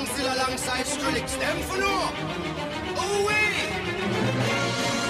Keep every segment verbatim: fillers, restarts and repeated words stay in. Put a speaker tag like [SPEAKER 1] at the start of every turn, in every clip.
[SPEAKER 1] Council alongside Skrillex. Them for no. Oh, wait.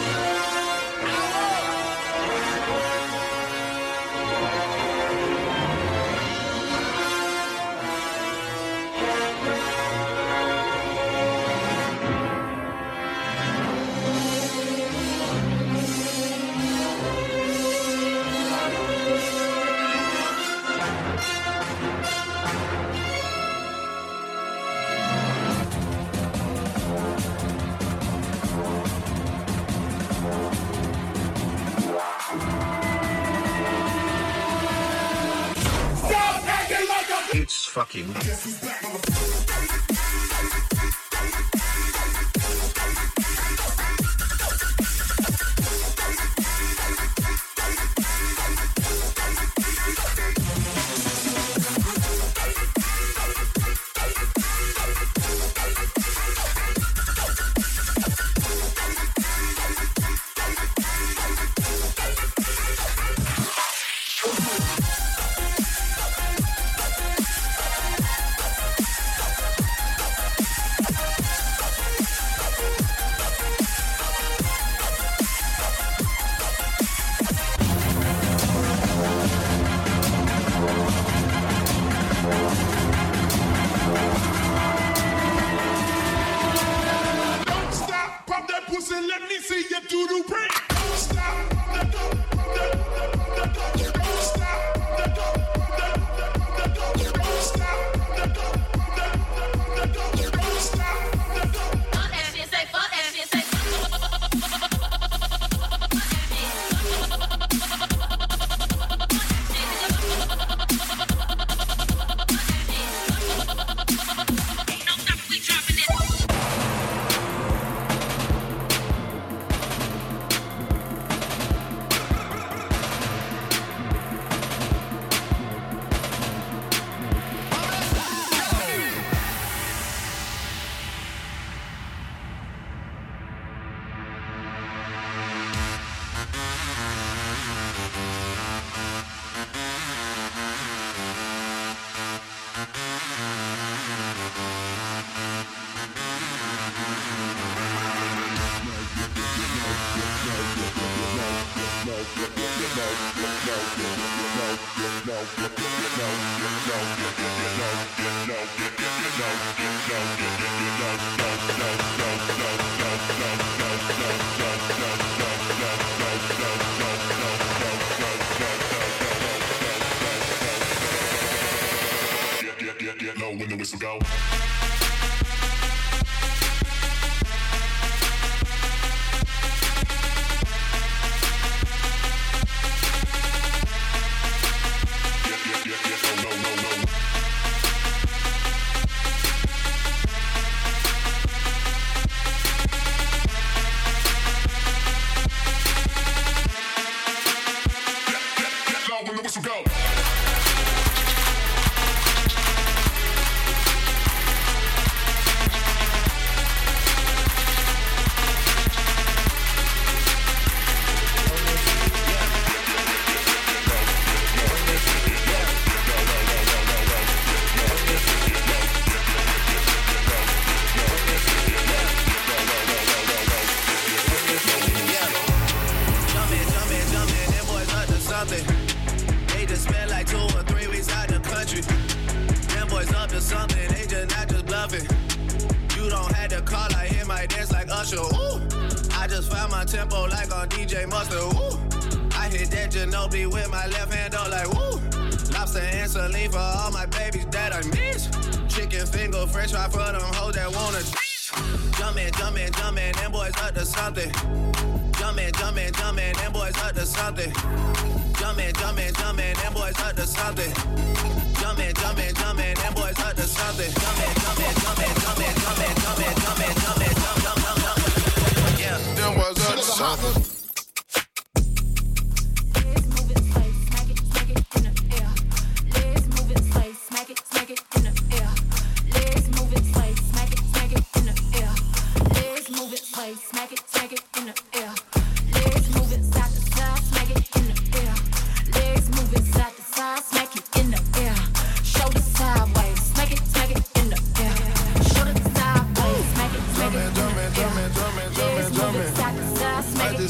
[SPEAKER 2] It's fucking.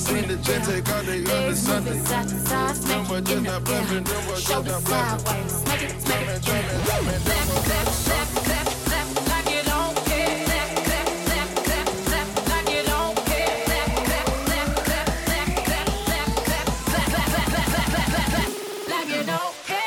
[SPEAKER 2] seen the jet take out, they understand it. Them boys just not bluffing, them boys just not bluffing.
[SPEAKER 3] Smack it, smack it, clap, clap, clap, clap, clap, clap, like you don't care. Clap, clap, clap, clap, clap, like you don't care. Clap, clap, clap, clap, clap, clap, clap, clap, clap, clap, clap, clap, clap, clap, clap, like you don't care.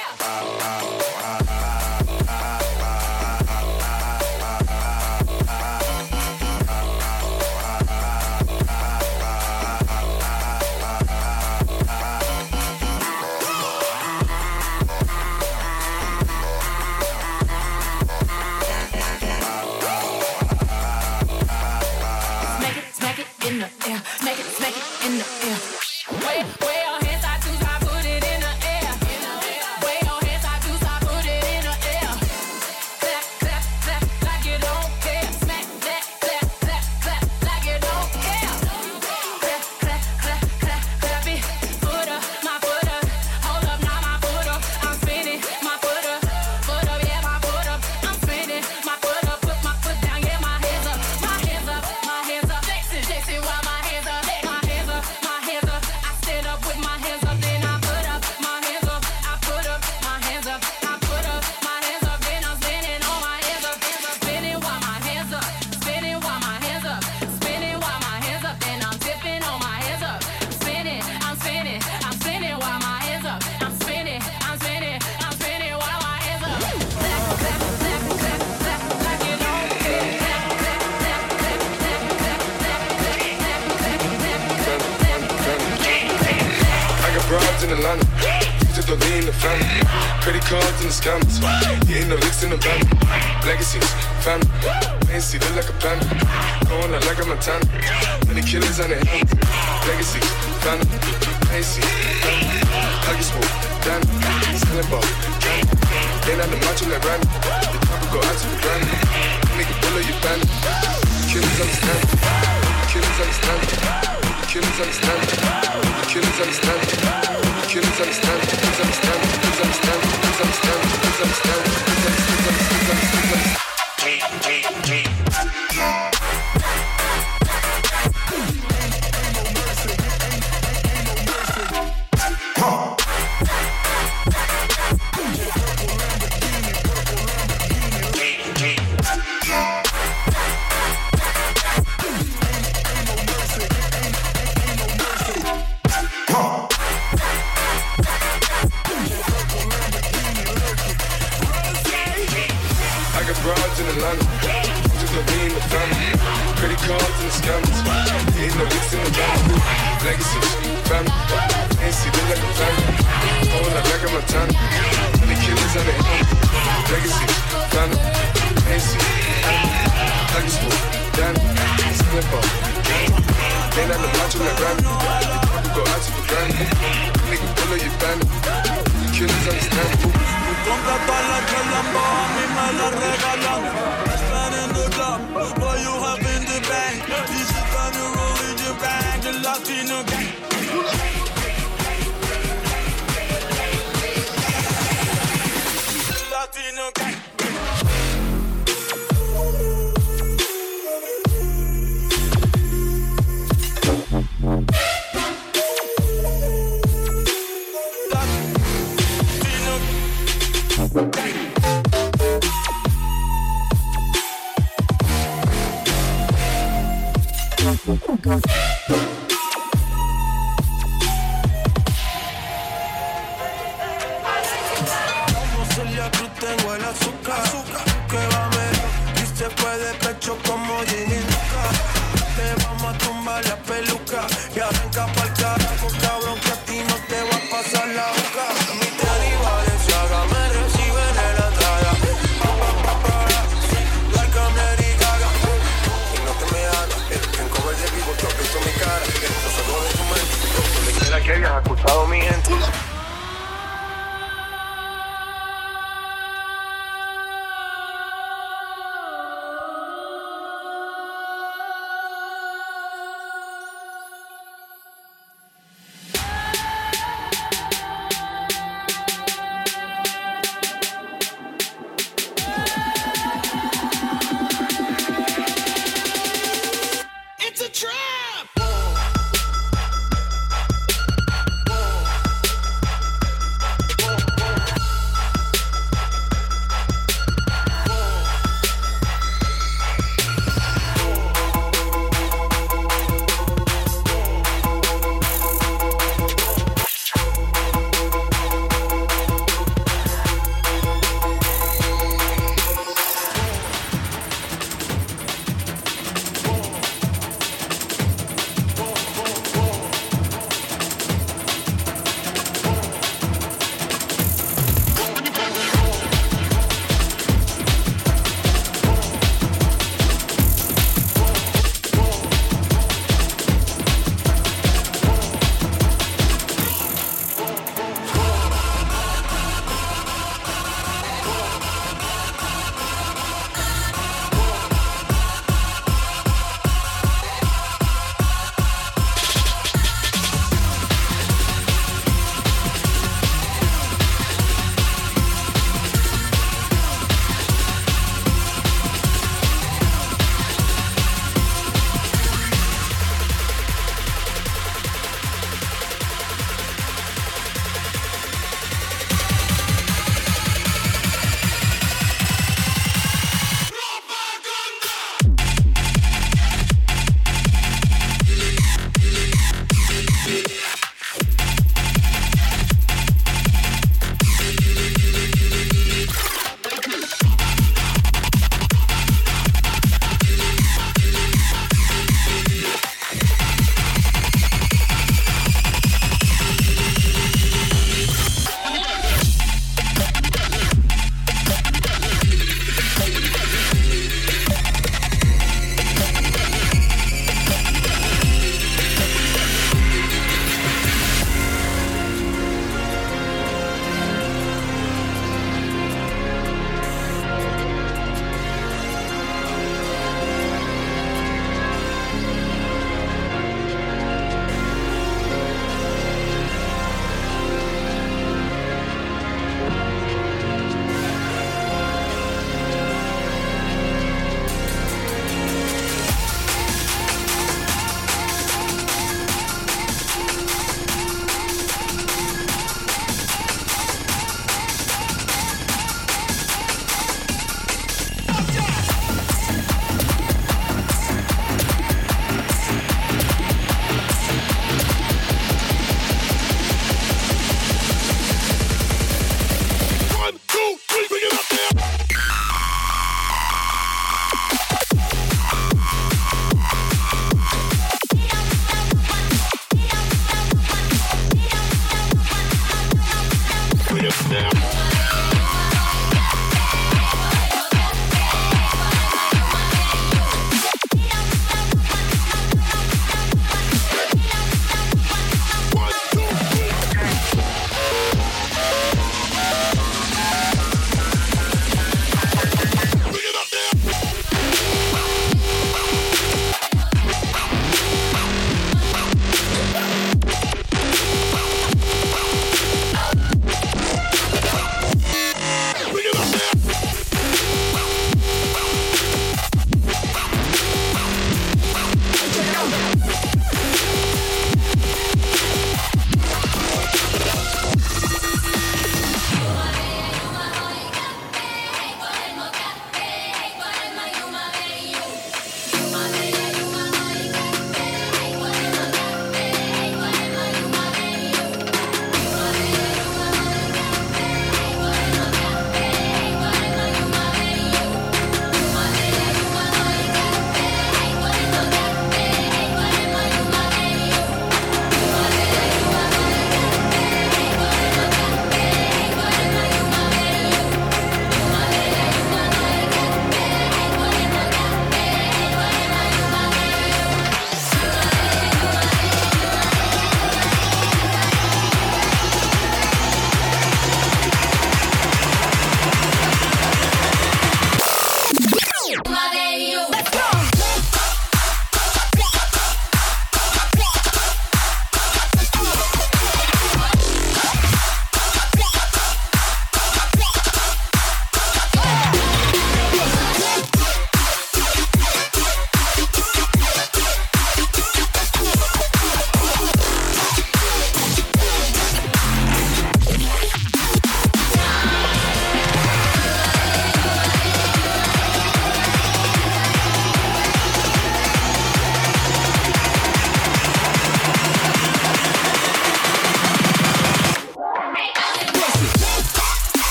[SPEAKER 2] In Atlanta, just don't lean the family. Credit cards and the scammers. You ain't no licks in the van. Legacies, family. Fancy, look like a panda. Going out like a Montana. Many killers on the hands. Legacies, family. Fancy, family. Huggy smoke, Dan. Selling ball, can. They not the macho like Randy. The top will go out to the grand. Nigga, pull up your band. Killers understand. Killers understand. Killers understand. Killers understand. Killers understand. Killers understand. Killers understand. Killers understand. Killers understand. Killers understand. Broads in Atlanta, just don't lean the family. Credit cards and the scammers. Ain't no licks in the van. Legacy, family. Fancy, look like a family. Going out like a Montana. The killers on the hand. Legacy, family. Fancy, family. Huggy smoke, Danny. Selling ball, gang. They not the macho like Randy. The top go out to the grand. Nigga, pull up your band. Killers understand.
[SPEAKER 4] Compra todas las que Lambo a mí me las regalan. Spend in the club, what you have in the bank. This is time you roll in your bag, the Latino gang. The Latino gang. Como Celia Cruz tengo el azúcar, azúcar que va mejor y se fue de pecho como Ginny Luca. Te vamos a tumbar la peluca y arranca pa'l carajo, cabrón, que a ti no te va a pasar la boca. Mi tenis Valenciaga me reciben en la entrada. Pa, pa, pa, pa, like I'm Lady Gaga. Y no te me hagas, el cover de vivo, tú has visto mi cara. No se de tu mente, donde quiera que hayas escuchado mi gente.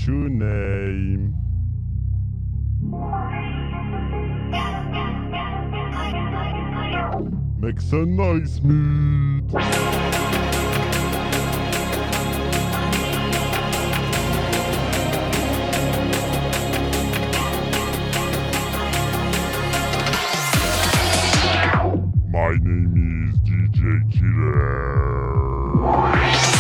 [SPEAKER 5] What's your name? Make some noise, mate. My name is D J Killer.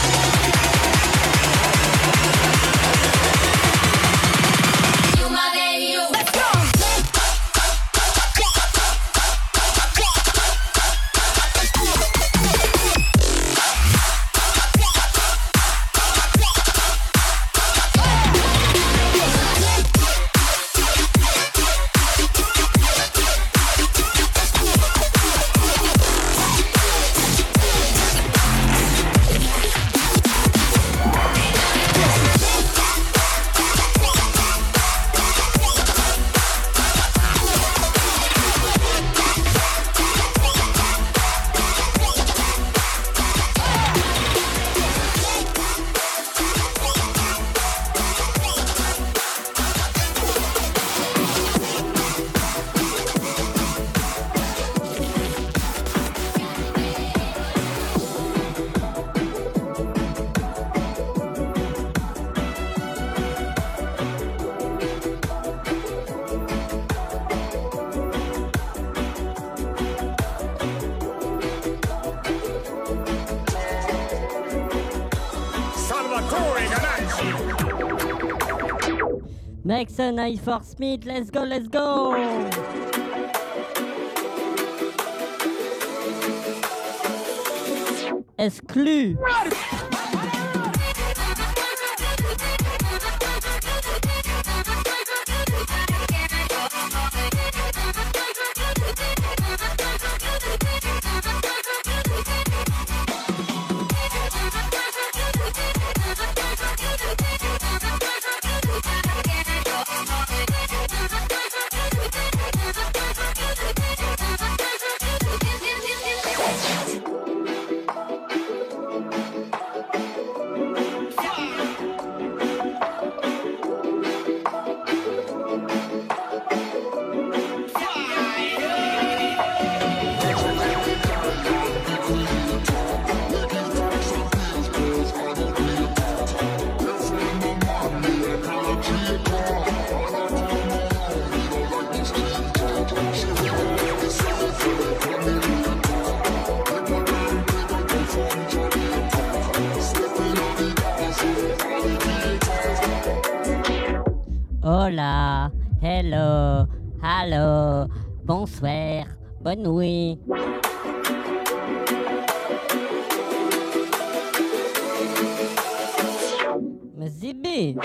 [SPEAKER 6] Next a night for Smith, let's go, let's go! Exclu! Hola, hello, hello, bonsoir, bonne nuit. Mais Zibi!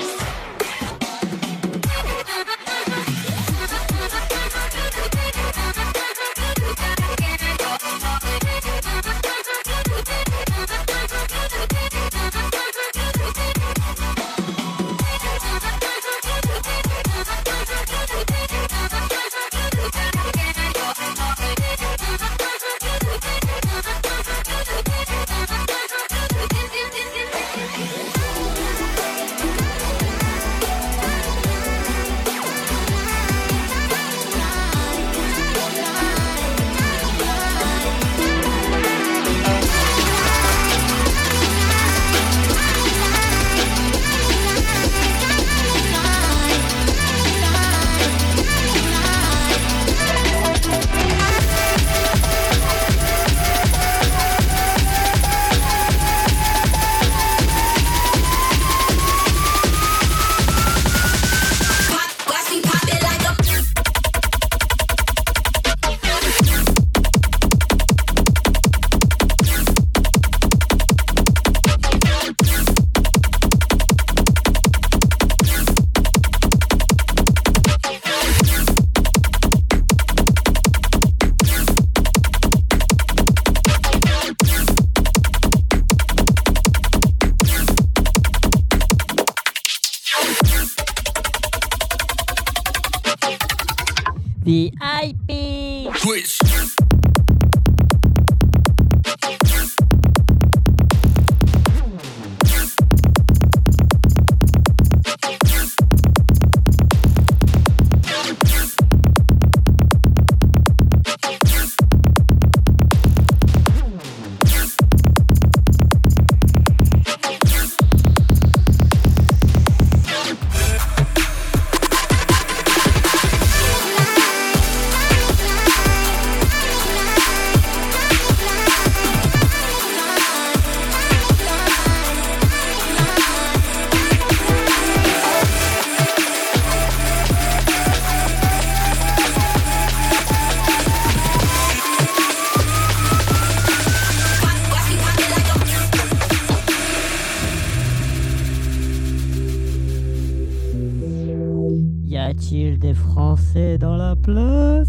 [SPEAKER 6] V I P!
[SPEAKER 1] Twitch.
[SPEAKER 6] a-t-il des Français dans la place?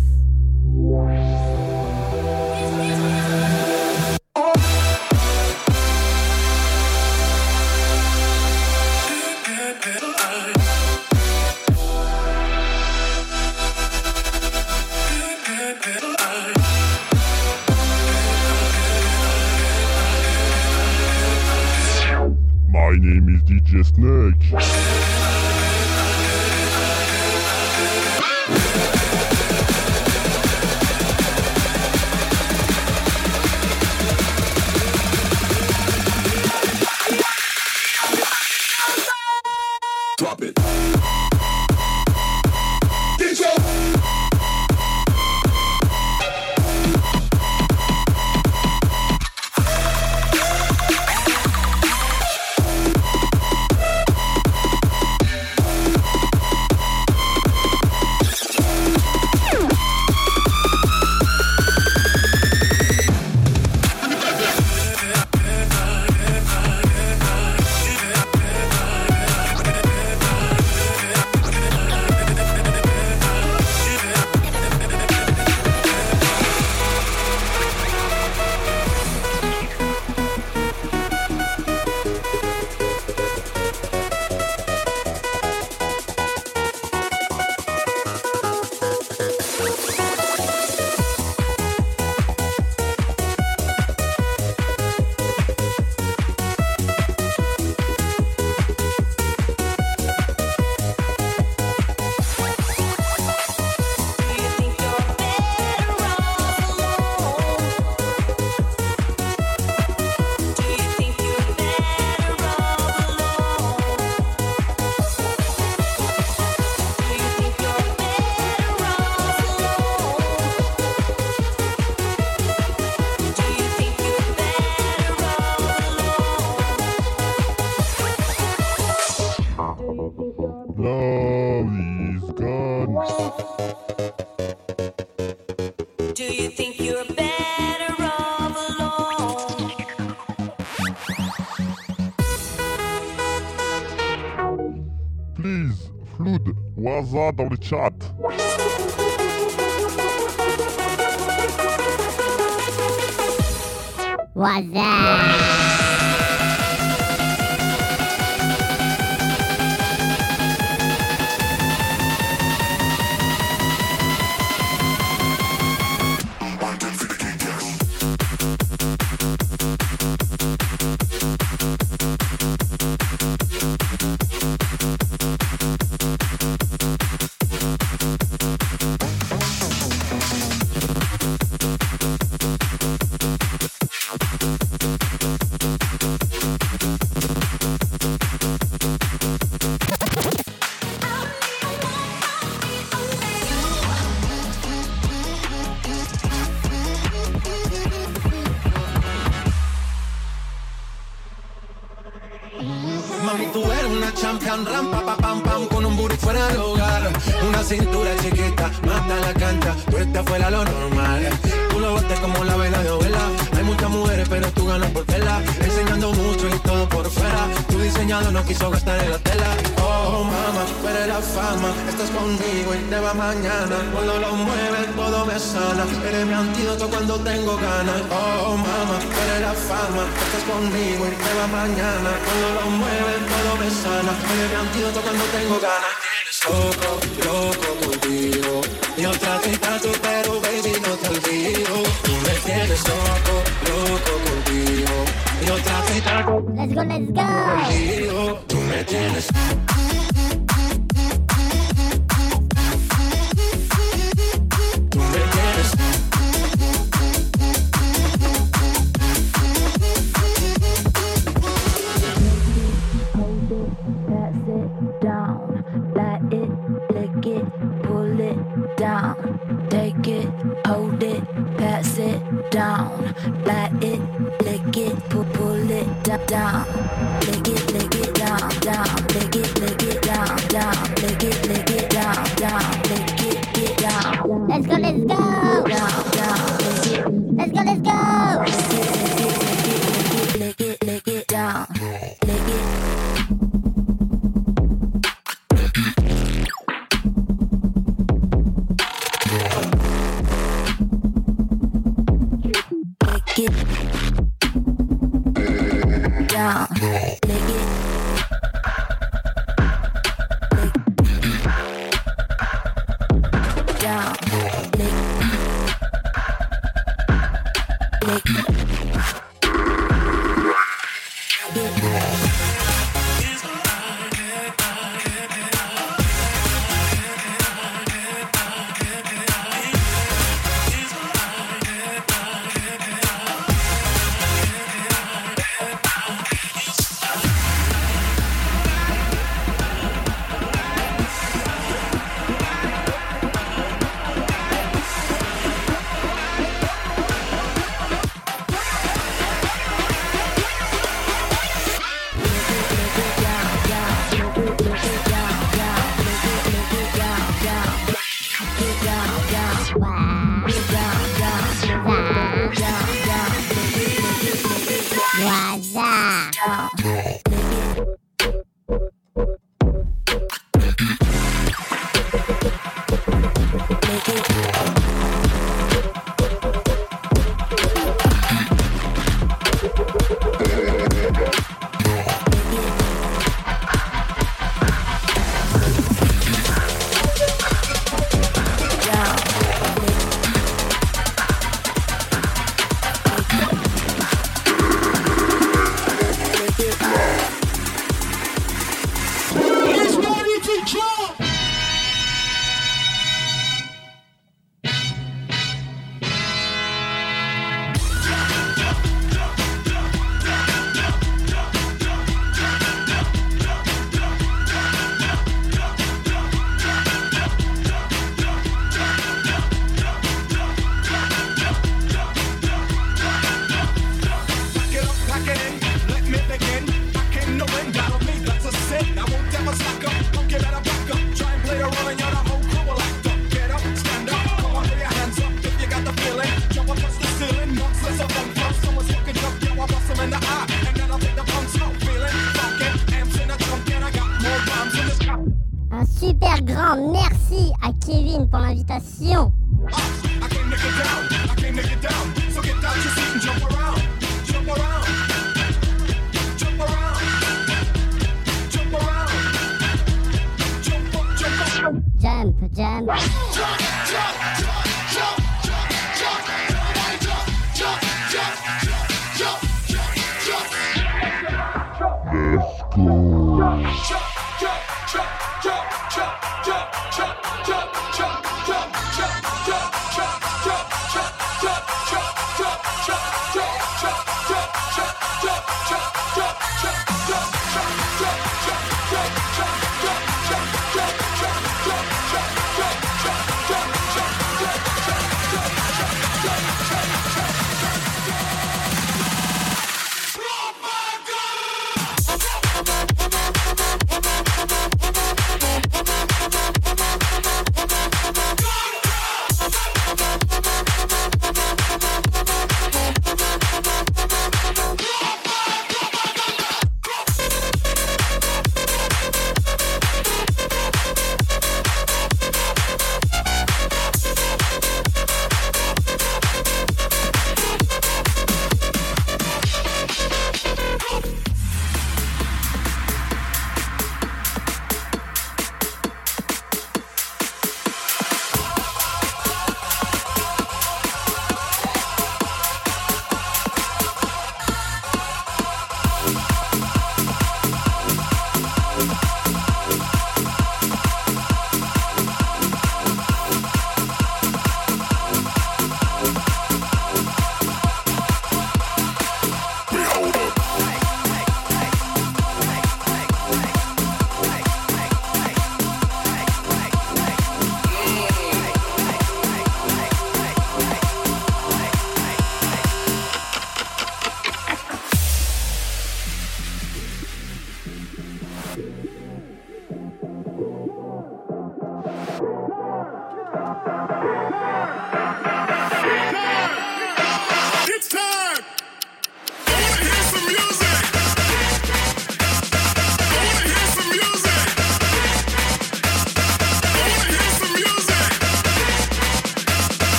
[SPEAKER 5] My name is D J Snake.
[SPEAKER 2] Drop it. D J.
[SPEAKER 5] Love is gone.
[SPEAKER 3] Do you think you're better off alone?
[SPEAKER 5] Please, Flood, Waza dans le chat.
[SPEAKER 6] Waza.
[SPEAKER 4] Mami, tú eres una champion, rampa, pa, pam, pam, con un booty fuera del hogar. Una cintura chiquita, mata la cancha, tú estás fuera lo normal. Tú lo bates como la vela de abuela. Hay muchas mujeres, pero tú ganas por tela. Enseñando mucho y todo por fuera. Tu diseñado no quiso gastar en la tela. Oh, mama, tú eres la fama. Estás conmigo y te va mañana. Cuando lo mueves, todo me sana. Eres mi antídoto cuando tengo ganas. Oh, mama, tú eres la fama. Estás conmigo y te va mañana. Cuando lo mueves, todo me sana. Eres mi antídoto cuando tengo ganas. Loco, loco contigo. Yo trato y trato, pero baby no te olvido. Tú me tienes loco, loco contigo. Yo trato y trato,
[SPEAKER 6] Let's go, let's go.
[SPEAKER 4] contigo. Tú me tienes. Tú me tienes.
[SPEAKER 7] Pass it down, light it, lick it, pull it down, take it, hold it, pass it down, light it, lick it, pull, pull it da- down, lick it, lick it down, down, lick it, lick it down, down, lick it, lick it down, down, lick it, get down.
[SPEAKER 6] Let's go, let's go.
[SPEAKER 7] Down, down, lick it,
[SPEAKER 6] Let's go, let's go.
[SPEAKER 7] lick it, lick it, lick it, lick it down, lick it. down, lick it. Down, lick, lick, lick.
[SPEAKER 6] Un super grand merci à Kevin pour l'invitation. Jump, jump.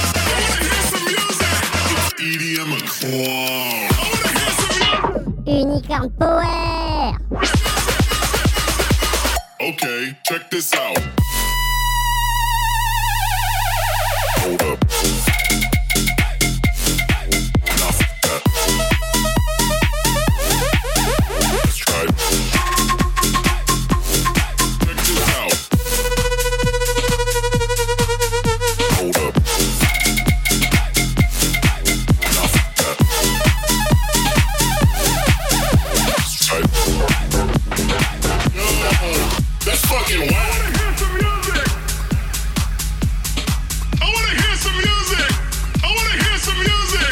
[SPEAKER 6] Unique Unicorn Power.
[SPEAKER 2] Okay, check this out. Hold up. Now f- that. Let's try it. Check this out. Hold up. Now f- that. Let's try it. Yo, that's fucking wild. I wanna hear some music. I wanna hear some music.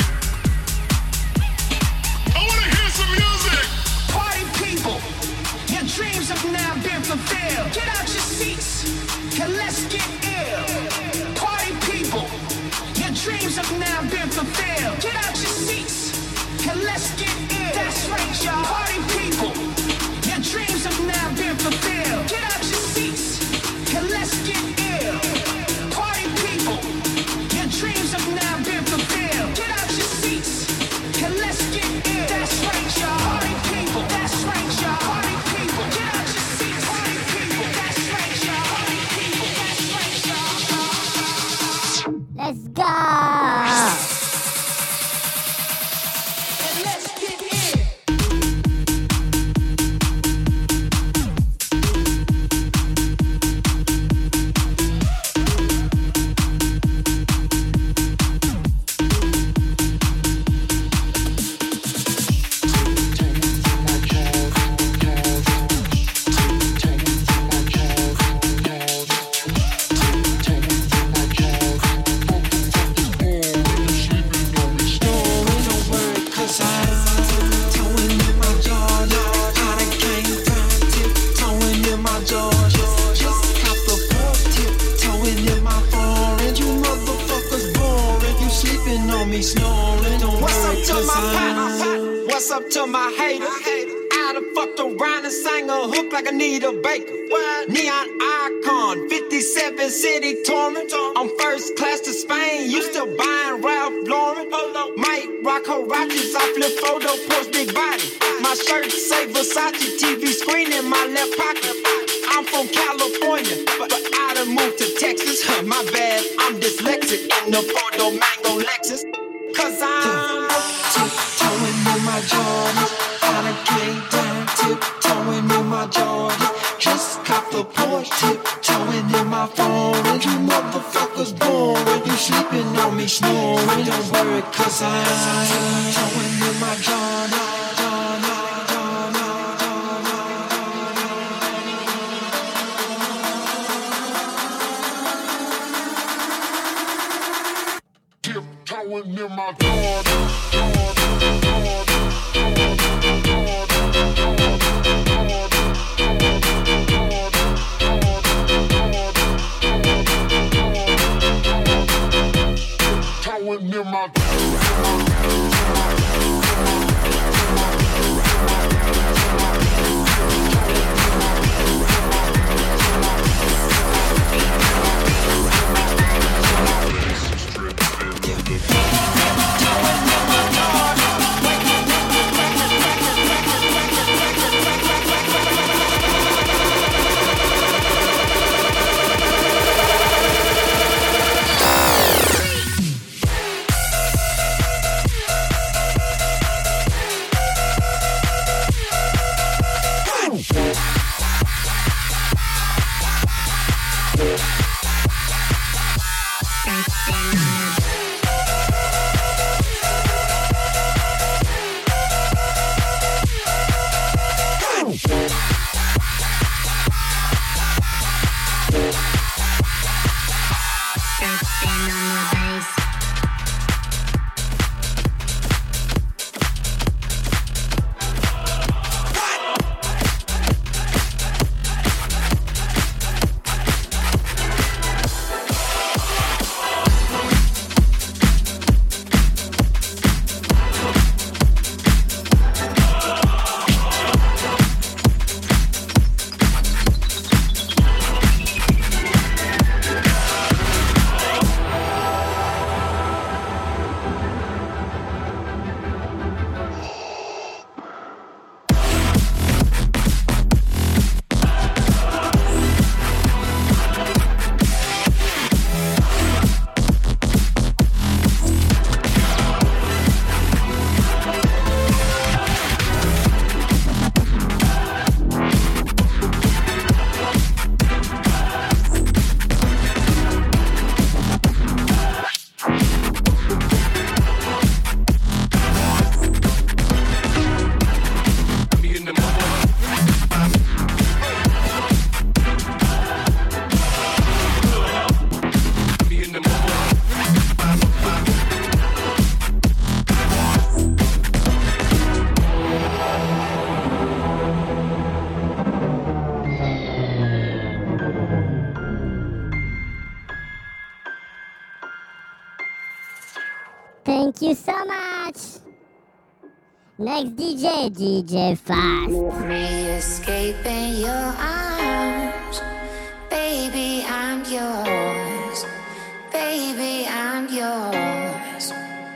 [SPEAKER 2] I wanna hear some music.
[SPEAKER 8] Party people, your dreams have now been fulfilled. Get out your seats and let's get ill. Party people, your dreams have now been fulfilled. Get out your seats and let's get ill. That's right, y'all. Party people, your dreams have now been fulfilled. Get out your seats and let's get ill. Party people, your dreams have now been fulfilled. Get out your seats and let's get ill. That's right, y'all. Party people, that's right, y'all. Party people, get out your seats. Party people, that's right, y'all. Party people, that's right, y'all.
[SPEAKER 6] Let's go.
[SPEAKER 8] And let's get ill.
[SPEAKER 9] What's up to my partners? What's up to my haters? I done fucked around and sang a hook like Anita Baker. Neon icon, fifty-seven city touring. I'm first class to Spain, you still buying Ralph Lauren. Might rock Huaraches, I flip photo, post big body. My shirt say Versace, T V screen in my left pocket. I'm from California, but, but I done moved to Texas. Huh, my bad, I'm dyslexic in the Porto Mango Lexus. Cause I'm tiptoeing in my Jordans. I done came down, tiptoeing in my Jordans. Just cop the Porsche, tiptoeing in my foreign. You motherfuckers boring, you sleeping on me snoring. Don't worry, cause I'm tiptoeing in my Jordans.
[SPEAKER 2] Tiptoeing in my Jordan, Jordan, Jordan, Jordan, Jordan.
[SPEAKER 6] Thank you so much. Next D J, D J Fast.
[SPEAKER 7] Me escaping your arms. Baby, I'm yours. Baby, I'm yours.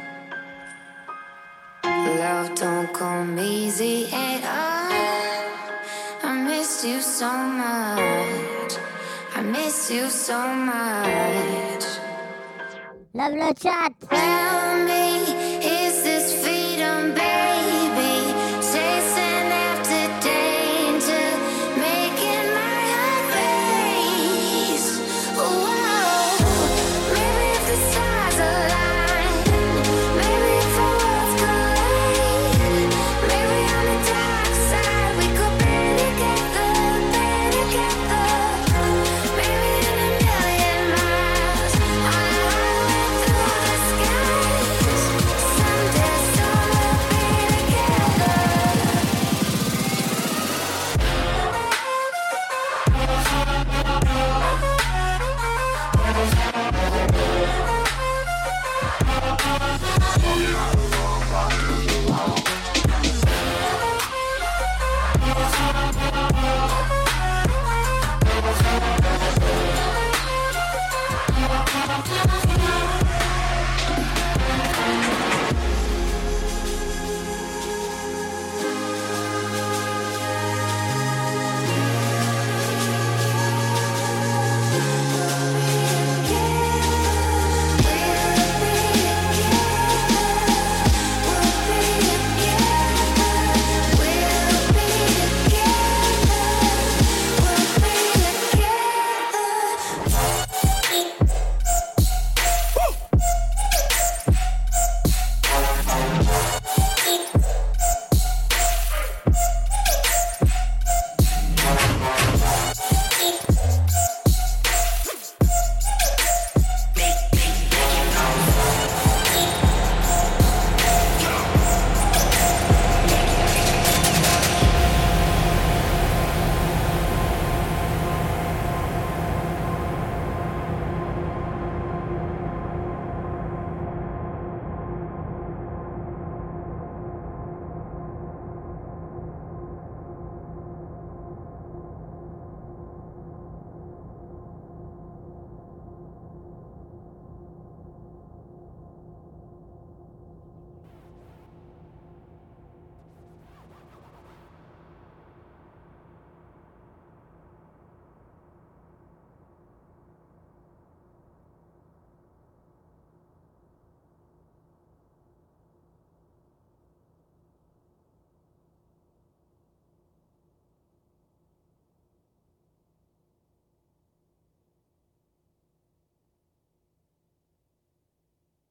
[SPEAKER 7] Love don't come easy at all. I miss you so much. I miss you so much.
[SPEAKER 6] Love le chat.
[SPEAKER 7] Tell me, is this freedom, baby? Chasing after danger, making my heart race. Whoa, maybe if the stars align, maybe if our worlds collide, maybe on the dark side we could be together, be together. Maybe in a million miles, on a highway through the skies. Someday, soon we'll be together.